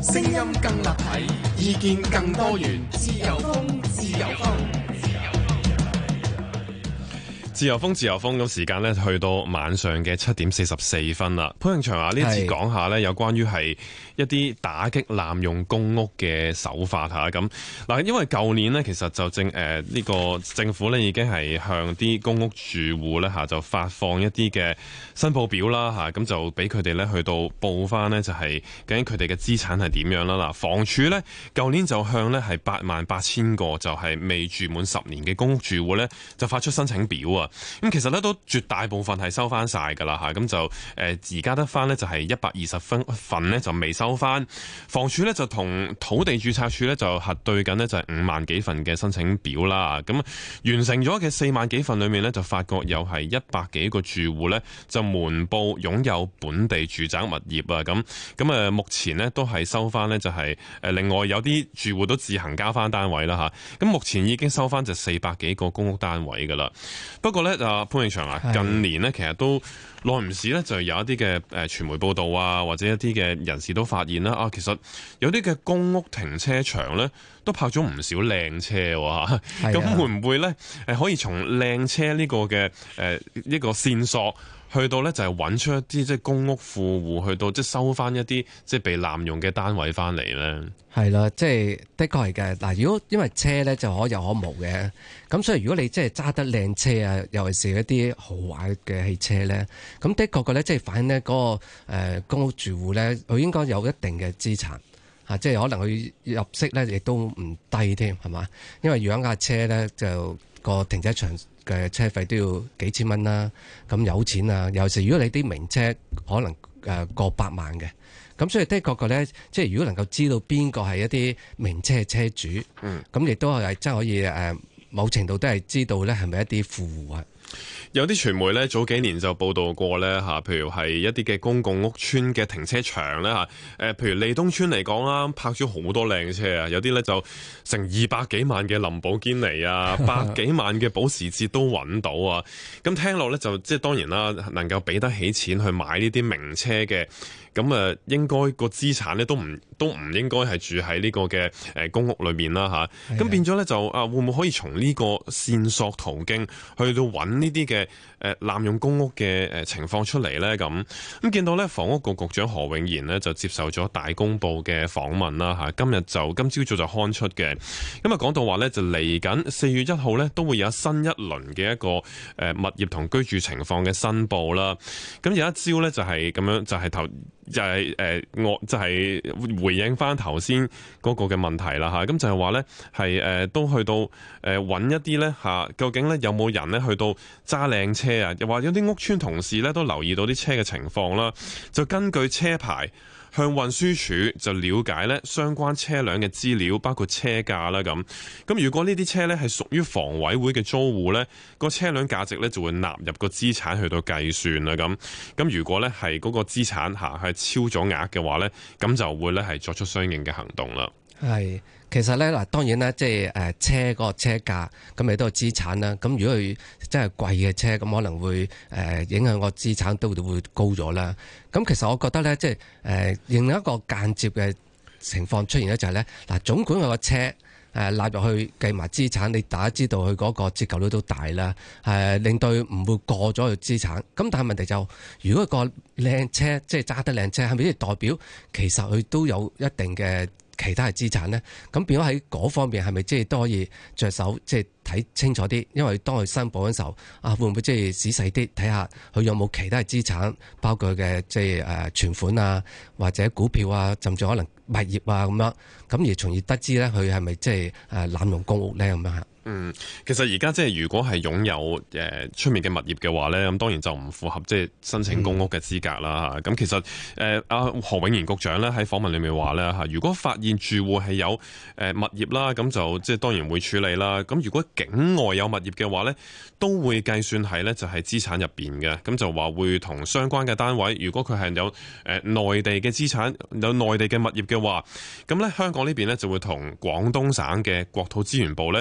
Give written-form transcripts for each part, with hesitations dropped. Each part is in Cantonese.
聲音更立體，意見更多元，自由風，自由風。 自由風，自由風。咁時間呢去到晚上嘅7:44啦。潘永祥啊，呢一次講下呢，有關於係一啲打擊濫用公屋嘅手法嚇。咁嗱，因為舊年呢，其實就呢個政府呢已經係向啲公屋住戶呢就發放一啲嘅申報表啦嚇，咁就俾佢哋呢去到報翻呢，就係究竟佢哋嘅資產係點樣啦。嗱，房署呢，舊年就向呢係88000個就係未住滿10年嘅公屋住戶呢，就發出申請表啊。咁其實咧都絕大部分係收翻晒㗎啦嚇，咁就而家得翻呢，就係120份呢就未收翻。房署呢，就同土地註冊處呢，就核對緊呢，就係5萬幾份嘅申請表啦。咁完成咗嘅4萬幾份裏面呢，就發覺有係100幾個住戶呢，就瞞報擁有本地住宅物業啊。咁目前呢，都係收翻呢，就係另外有啲住戶都自行交翻單位啦嚇。咁目前已經收翻就400幾個公屋單位㗎啦。不過咧，潘永祥啊，近年呢，其實都耐唔時咧，就有一啲嘅傳媒報道啊，或者一啲嘅人士都發現啦，其實有啲嘅公屋停車場咧，都泊咗唔少靚車喎。咁會唔會咧可以從靚車呢個嘅呢個線索，去到咧就係揾出一啲即係公屋富戶，去到即係收翻一啲即係被濫用嘅單位翻嚟咧？ 係啦，即係的確係嘅。嗱，如果因為車咧就可有可無嘅，咁所以如果你即係揸得靚車啊，尤其是一啲豪華嘅汽車咧，咁的確嘅咧即係反映呢嗰個公屋住戶咧，佢應該有一定嘅資產嚇，即係可能佢入息咧亦都唔低添，係嘛？因為養架車咧就個停車場嘅車費都要幾千蚊啦，咁有錢啊！尤其是如果你啲名車可能過百萬嘅。咁所以的確咧，即係如果能夠知道邊個係一啲名車嘅車主，咁亦都係真係可以某程度都係知道咧係咪一啲富戶啊。 有啲傳媒咧早幾年就報道過咧嚇，譬如係一啲嘅公共屋邨嘅停車場咧嚇，譬如利東邨嚟講啦，泊咗好多靚車啊，有啲咧就成200幾萬嘅林寶堅尼啊，100幾萬嘅保時捷都揾到啊。咁聽落咧就即係當然啦，能夠俾得起錢去買呢啲名車嘅，咁應該個資產咧都唔應該係住喺呢個嘅公屋裏面啦嚇。咁變咗咧就會唔會可以從呢個線索途徑去到揾呢啲嘅濫用公屋嘅情況出嚟呢？咁見到呢，房屋局局長何永賢呢就接受咗大公報嘅訪問啦嚇，今朝早就刊出嘅。咁講到話呢，就嚟緊4月1號呢都會有新一輪嘅一個物業同居住情況嘅申報啦。咁有一招呢，就係咁樣，就係回應翻頭先嗰個嘅問題啦嚇。咁就係話呢，係都去到揾一啲呢，究竟呢有冇人呢去到揸靚車啊？又話有啲屋邨同事呢都留意到啲車嘅情況啦，就根據車牌向運輸署就了解呢相關車輛嘅資料，包括車價啦咁。咁如果呢啲車呢係屬於房委會嘅租戶呢，個車輛價值呢就會納入個資產去到計算啦咁。咁如果呢係嗰個資產係超咗額嘅話呢，咁就會呢係作出相應嘅行動啦。 係，其實咧嗱，當然啦，即係車嗰個車價，咁亦都係資產啦。咁如果佢真係貴嘅車，咁可能會影響個資產都會高咗啦。咁其實我覺得咧，即係另一個間接嘅情況出現咧，就係咧嗱，總管個車納入去計埋資產，你大家知道佢嗰個折舊率都大啦，令到佢唔會過咗佢資產。咁但係問題就，如果個靚車即係揸得靚車，係咪即係代表其實佢都有一定嘅其他嘅資產呢？咁變咗喺嗰方面係咪即係都可以着手即係睇清楚啲？因為當佢申報嗰時候會唔會即係仔細啲睇下佢有冇其他嘅資產，包括佢嘅即係存款啊，或者股票啊，甚至可能物業啊咁樣，咁而從而得知咧佢係咪即係濫用公屋咧咁樣嚇。 其實而家即係如果係擁有出面嘅物業嘅話咧，咁當然就唔符合即係申請公屋嘅資格啦嚇。咁其實何永賢局長咧喺訪問裏面話咧嚇，如果發現住戶係有物業啦，咁就即係當然會處理啦。咁如果境外有物業嘅話咧，都會計算係咧就係資產入邊嘅。咁就話會同相關嘅單位，如果佢係有內地嘅資產、有內地嘅物業嘅話，咁咧香港呢邊咧就會同廣東省嘅國土資源部咧去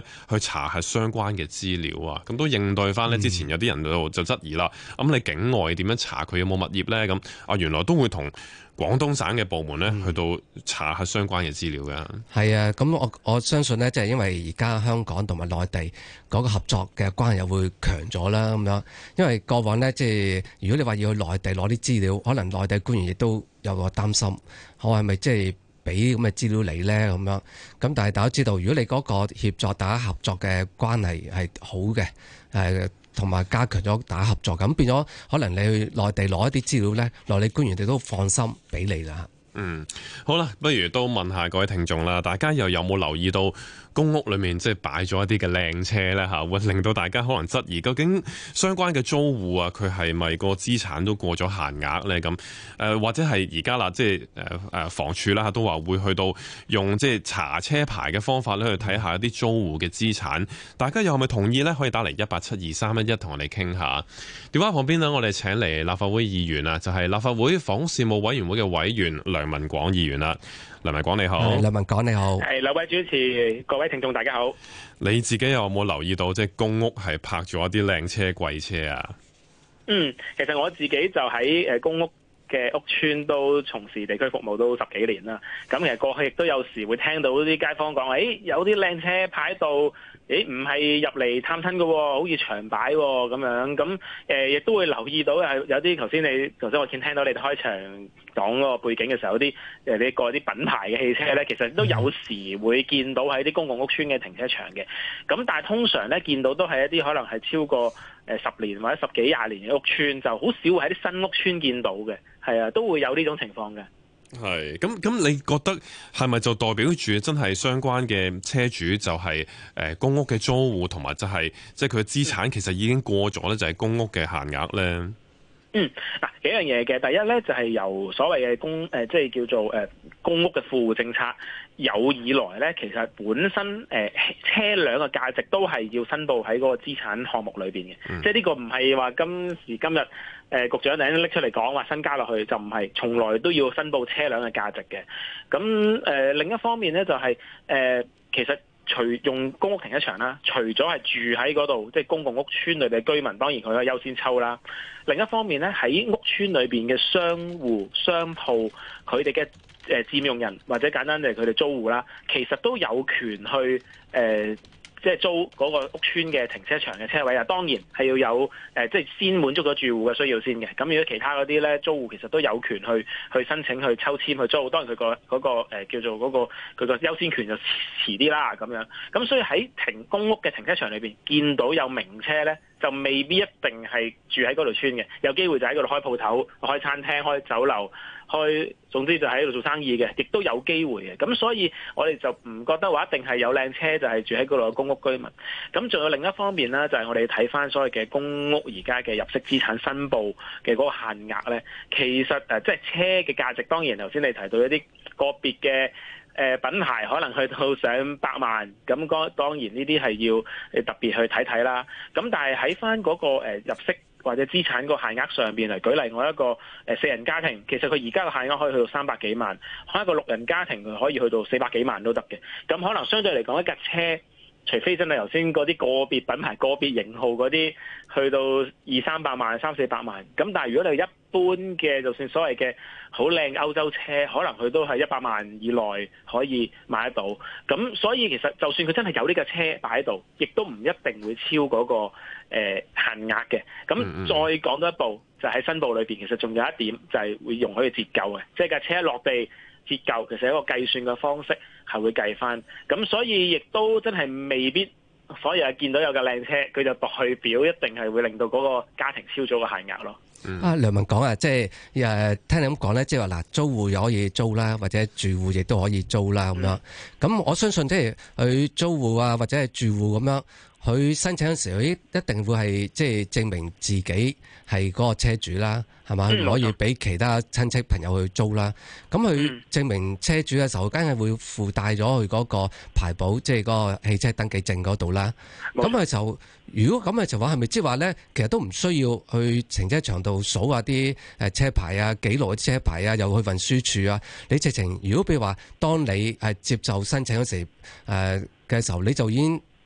查核相關嘅資料啊，咁都應對翻呢。之前有啲人就質疑啦，咁你境外點樣查佢有冇物業呢？咁原來都會同廣東省嘅部門呢去到查核相關嘅資料嘅。 係啊，咁我相信呢，即係因為而家香港同埋內地嗰個合作嘅關係又會強咗啦，咁樣。因為過往呢，即係如果你話要去內地攞啲資料，可能內地官員亦都有個擔心，我係咪即係俾咁嘅資料你呢？咁樣。咁但係大家都知道，如果你嗰個協作大家合作嘅關係係好嘅，同埋加強咗大家合作，咁變咗可能你去內地攞一啲資料呢，內地官員哋都放心俾你啦。 好啦，不如都問下各位聽眾啦，大家又有冇留意到公屋裏面即係擺咗一啲嘅靚車呢？嚇，會令到大家可能質疑究竟相關嘅租戶啊，佢係咪個資產都過咗限額呢？咁或者係而家啦，即係房署啦都話會去到用即係查車牌嘅方法咧去睇下一啲租戶嘅資產，大家又係咪同意呢？可以打嚟1872311同我哋傾下。電話旁邊呢，我哋請嚟立法會議員啊，就係立法會房屋事務委員會嘅委員梁文廣議員啦。梁文廣你好。 梁文廣你好。 係，兩位主持，各位聽眾大家好。 你自己有冇留意到即係公屋係泊咗一啲靚車貴車啊？ 其實我自己就喺公屋嘅屋邨都從事地區服務都10幾年啦。咁其實過去亦都有時會聽到啲街坊講，有啲靚車擺喺度，唔係入嚟探親㗎喎，好似長擺喎咁樣。咁亦都會留意到有啲頭先我聽到你哋開場講嗰個背景嘅時候，有啲你過啲品牌嘅汽車咧，其實都有時會見到喺啲公共屋邨嘅停車場嘅。咁但係通常咧見到都係一啲可能係超過10年或者10幾20年嘅屋邨，就好少會喺啲新屋邨見到嘅。係啊，都會有呢種情況嘅。 係咁，你覺得係咪就代表住真係相關嘅車主就係公屋嘅租戶，同埋就係即係佢嘅資產其實已經過咗咧，就係公屋嘅限額咧？ 嗱，幾樣嘢嘅。第一咧就係由所謂嘅即係叫做公屋嘅富戶政策有以來咧，其實本身車輛嘅價值都係要申報喺嗰個資產項目裏邊嘅。即係呢個唔係話今時今日局長突然間拎出嚟講話新加落去，就唔係，從來都要申報車輛嘅價值嘅。咁另一方面咧就係其實除用公屋停車場啦，除咗係住喺嗰度，即係公共屋邨裏邊嘅居民，當然佢可以優先抽啦。另一方面咧，喺屋邨裏邊嘅商戶、商鋪，佢哋嘅佔用人或者簡單嚟佢哋租戶啦，其實都有權去即係租嗰個屋邨嘅停車場嘅車位啊。當然係要有即係先滿足咗住戶嘅需要先嘅。咁如果其他嗰啲咧，租戶其實都有權去申請去抽籤去租。當然佢個嗰個叫做嗰個佢個優先權就遲啲啦咁樣。咁所以喺公屋嘅停車場裏邊見到有名車咧，就未必一定係住喺嗰度村嘅，有機會就喺嗰度開鋪頭、開餐廳、開酒樓、總之就喺度做生意嘅，亦都有機會嘅。咁所以我哋就唔覺得話一定係有靚車就係住喺嗰度嘅公屋居民。咁仲有另一方面呢，就係我哋睇翻所謂嘅公屋而家嘅入息資產申報嘅嗰個限額呢。其實即係車嘅價值，當然頭先你提到一啲個別嘅品牌可能去到上百萬，咁當然呢啲係要特別去睇啦。咁但係喺翻嗰個入息或者資產個限額上邊嚟舉例，我一個4人家庭，其實佢而家個限額可以去到300幾萬，一個6人家庭佢可以去到400幾萬都得嘅。咁可能相對嚟講，一架車除非真係頭先嗰啲個別品牌、個別型號嗰啲去到200-300萬、300-400萬，咁但係如果你一般嘅，就算所謂嘅好靚歐洲車，可能佢都係100萬以內可以買得到。咁所以其實就算佢真係有呢架車擺喺度，亦都唔一定會超嗰個限額嘅。咁再講多一步，就喺申報裏邊，其實仲有一點就係會容許佢折舊嘅，即係架車一落地折舊，其實一個計算嘅方式係會計翻。咁所以亦都真係未必，所以見到有架靚車，佢就代表一定係會令到嗰個家庭超咗個限額咯。 梁文廣啊，即係聽你咁講咧，即係話嗱，租戶又可以租啦，或者住戶亦都可以租啦咁樣。咁我相信即係佢租戶啊，或者係住戶咁樣，佢申請嘅時候，一定會係即係證明自己係嗰個車主啦，係嘛？唔可以俾其他親戚朋友去租啦。咁佢證明車主嘅時候，梗係會附帶咗佢嗰個牌簿，即係嗰個汽車登記證嗰度啦。咁佢就如果咁嘅情況，係咪即係話咧，其實都唔需要去停車場度數下啲車牌啊、記錄嘅車牌啊，又去運輸處啊？你直情如果譬如話，當你接受申請嗰時嘅時候，你就已經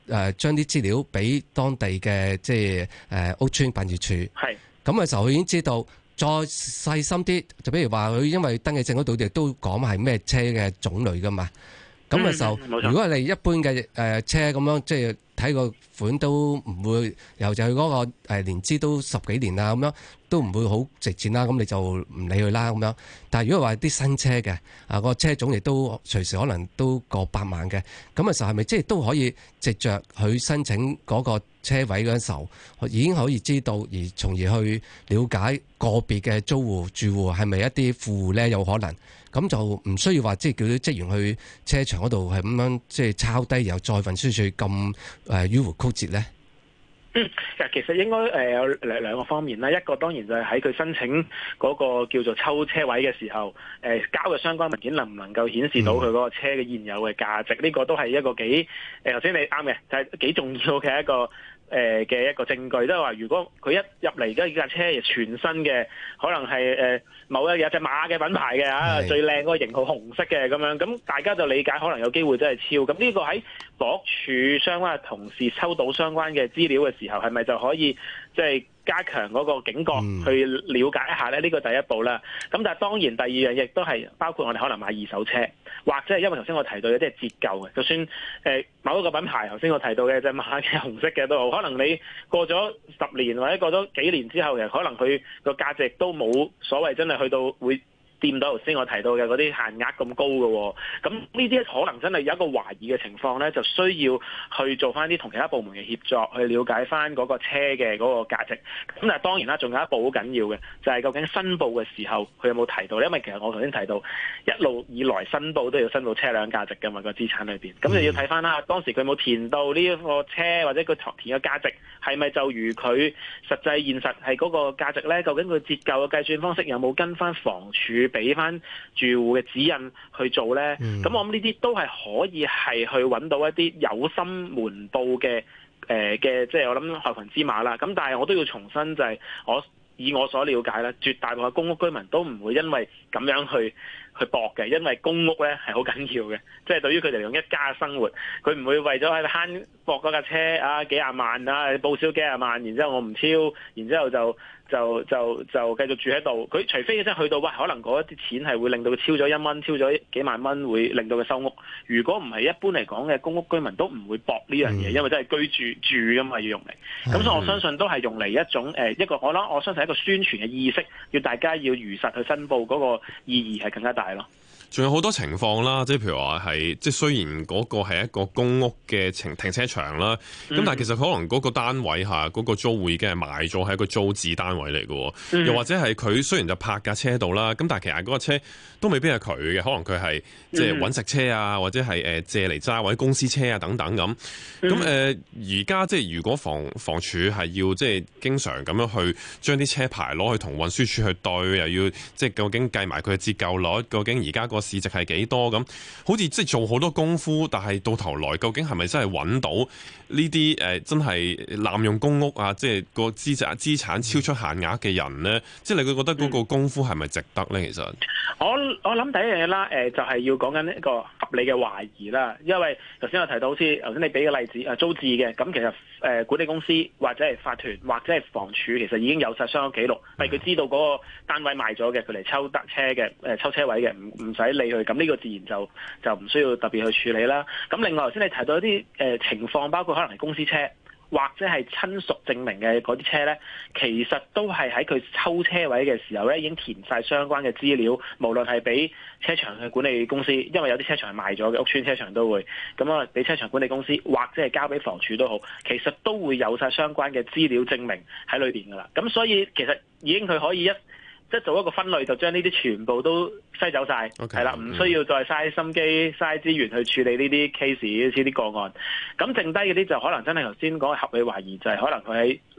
將啲資料俾當地嘅即係屋邨辦事處。係咁嘅時候，佢已經知道。再細心啲，就比如話佢因為登記證嗰度亦都講係咩車嘅種類噶嘛。咁嘅時候，如果你一般嘅車咁樣，即係睇個款都唔會，由就佢嗰個年資都10幾年啦，咁樣都唔會好值錢啦。咁你就唔理佢啦咁樣。但係如果話啲新車嘅個車種亦都隨時可能都過百萬嘅，咁嘅時候係咪即係都可以藉着佢申請嗰個車位嗰陣時候，已經可以知道，而從而去了解個別嘅租戶住戶係咪一啲富戶咧？有可能咁就唔需要話即係叫啲職員去車場嗰度係咁樣即係抄低，然後再運輸處咁迂迴曲折咧。 其實應該有兩個方面啦。一個當然就係喺佢申請嗰個叫做抽車位嘅時候，交嘅相關文件能唔能夠顯示到佢嗰個車嘅現有嘅價值？呢個都係一個幾頭先你啱嘅，就係幾重要嘅一個嘅一個證據。即係話如果佢一入嚟而家架車係全新嘅，可能係某有隻馬嘅品牌嘅最靚嗰個型號紅色嘅咁樣，咁大家就理解可能有機會真係超。咁呢個喺房屋署相關嘅同事收到相關嘅資料嘅時候，係咪就可以即係加強嗰個警覺去了解一下咧？呢個第一步啦。咁但係當然第二樣亦都係包括我哋可能買二手車，或者係因為頭先我提到有啲係折舊嘅，就算某一個品牌頭先我提到嘅隻馬嘅紅色嘅都好，可能你過咗10年或者過咗幾年之後，其實可能佢個價值都冇所謂真係去到會掂到頭先我提到嘅嗰啲限額咁高嘅喎，咁呢啲可能真係有一個懷疑嘅情況咧，就需要去做翻啲同其他部門嘅協作，去了解翻嗰個車嘅嗰個價值。咁但係當然啦，仲有一步好緊要嘅，就係究竟申報嘅時候佢有冇提到？因為其實我頭先提到一路以來申報都要申報車輛價值㗎嘛，個資產裏邊，咁就要睇翻啦，當時佢冇填到呢一個車或者佢填嘅價值係咪就如佢實際現實係嗰個價值咧？究竟佢折舊嘅計算方式有冇跟翻房署俾翻住戶嘅指引去做呢？咁我諗呢啲都係可以係去揾到一啲有心瞞報嘅即係我諗害群之馬啦。咁但係我都要重申就係以我所了解咧，絕大部分公屋居民都唔會因為咁樣去搏嘅，因為公屋咧係好緊要嘅，即係對於佢哋嚟講一家生活，佢唔會為咗喺度慳搏嗰架車幾廿萬報銷幾廿萬，然之後我唔超，然之後就繼續住喺度。佢除非真係去到可能嗰一啲錢係會令到佢超咗1蚊，超咗幾萬蚊，會令到佢收屋。如果唔係一般嚟講嘅公屋居民都唔會搏呢樣嘢，因為真係居住噶嘛，要用嚟。咁所以我相信都係用嚟一種一個我相信係一個宣傳嘅意識，要大家要如實去申報，嗰個意義係更加大咯。 仲有好多情況啦，即係譬如話係，即係雖然嗰個係一個公屋嘅停車場啦，咁但係其實可能嗰個單位下嗰個租戶已經係賣咗，係一個租置單位嚟嘅，又或者係佢雖然就泊架車喺度啦，咁但係其實嗰個車都未必係佢嘅，可能佢係即係揾食車啊，或者係借嚟揸或者公司車啊等等咁。咁而家即係如果房署係要即係經常咁樣去將啲車牌攞去同運輸署去對，又要即係究竟計埋佢嘅折舊率，究竟而家個市值係幾多咁？好似即係做好多功夫，但係到頭來究竟係咪真係揾到呢啲真係濫用公屋啊？即係個資產超出限額嘅人呢？即係你會覺得嗰個功夫係咪值得呢？其實我諗第一樣嘢啦，就係要講緊一個合理嘅懷疑啦。因為頭先我提到好似頭先你俾嘅例子租置嘅，咁其實管理公司或者係法團或者係房署其實已經有晒相關記錄，係佢知道嗰個單位賣咗嘅，佢嚟抽得車嘅抽車位嘅，唔使理佢。咁呢個自然就唔需要特別去處理啦。咁另外頭先你提到一啲情況，包括可能係公司車或者係親屬證明嘅嗰啲車呢，其實都係喺佢抽車位嘅時候呢已經填晒相關嘅資料，無論係俾車場嘅管理公司，因為有啲車場係賣咗嘅，屋邨車場都會咁啊，俾車場管理公司或者係交俾房署都好，其實都會有晒相關嘅資料證明喺裏邊噶啦。咁所以其實已經佢可以即係做一個分類，就將呢啲全部都篩走晒，係啦，唔需要再嘥心機、嘥資源去處理呢啲 case、呢啲個案。咁剩低嗰啲就可能真係頭先講嘅合理懷疑，就係可能佢喺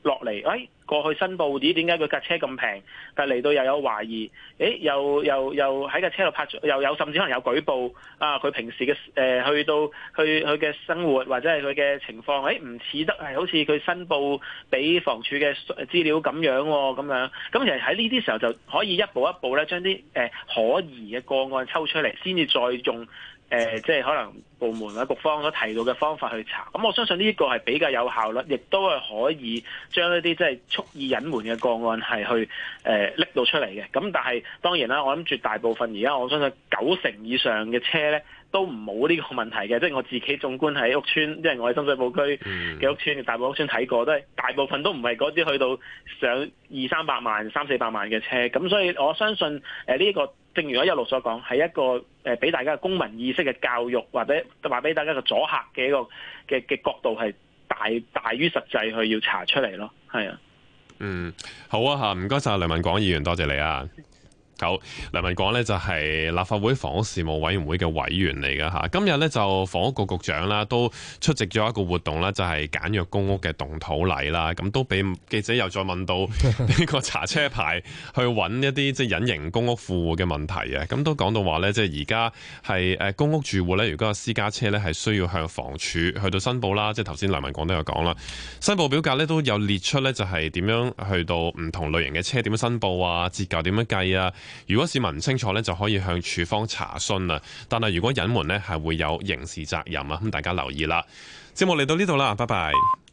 落嚟，過去申報點解佢架車咁平，但嚟到又有懷疑，又喺架車度拍咗，又有甚至可能有舉報啊，佢平時嘅去到佢嘅生活或者係佢嘅情況，唔似得係好似佢申報俾房署嘅資料咁樣喎，咁樣，咁其實喺呢啲時候就可以一步一步咧將啲可疑嘅個案抽出嚟，先至再用。即係可能部門或者局方所提到嘅方法去查，咁我相信呢個係比較有效率，亦都係可以將一啲即係蓄意隱瞞嘅個案係去拎到出嚟嘅。咁但係當然啦，我諗絕大部分而家我相信90%以上嘅車咧都唔冇呢個問題嘅，即係我自己縱觀喺屋邨，即係我喺深水埗區嘅屋邨，大埔屋邨睇過，大部分都唔係嗰啲去到上200-300萬、300-400萬嘅車，咁所以我相信呢個。正如我一路所講，係一個俾大家嘅公民意識嘅教育，或者話俾大家嘅阻嚇嘅一個嘅角度係大於實際去要查出嚟咯，係啊。 好啊嚇，唔該晒梁文廣議員，多謝你啊。好，梁文廣呢就係立法會房屋事務委員會嘅委員嚟㗎嚇。今日呢就房屋局局長啦，都出席咗一個活動啦，就係簡約公屋嘅動土禮啦。咁都俾記者又再問到呢個查車牌去揾一啲即係隱形公屋富戶嘅問題啊。咁都講到話呢，即係而家係公屋住戶呢，如果有私家車呢，係需要向房署去到申報啦。即係頭先梁文廣都有講啦，申報表格呢都有列出呢，就係點樣去到唔同類型嘅車點樣申報啊，折舊點樣計啊。如果市民唔清楚呢，就可以向署方查詢啊。但係如果隱瞞呢，係會有刑事責任啊。咁大家留意啦。節目嚟到呢度啦，拜拜。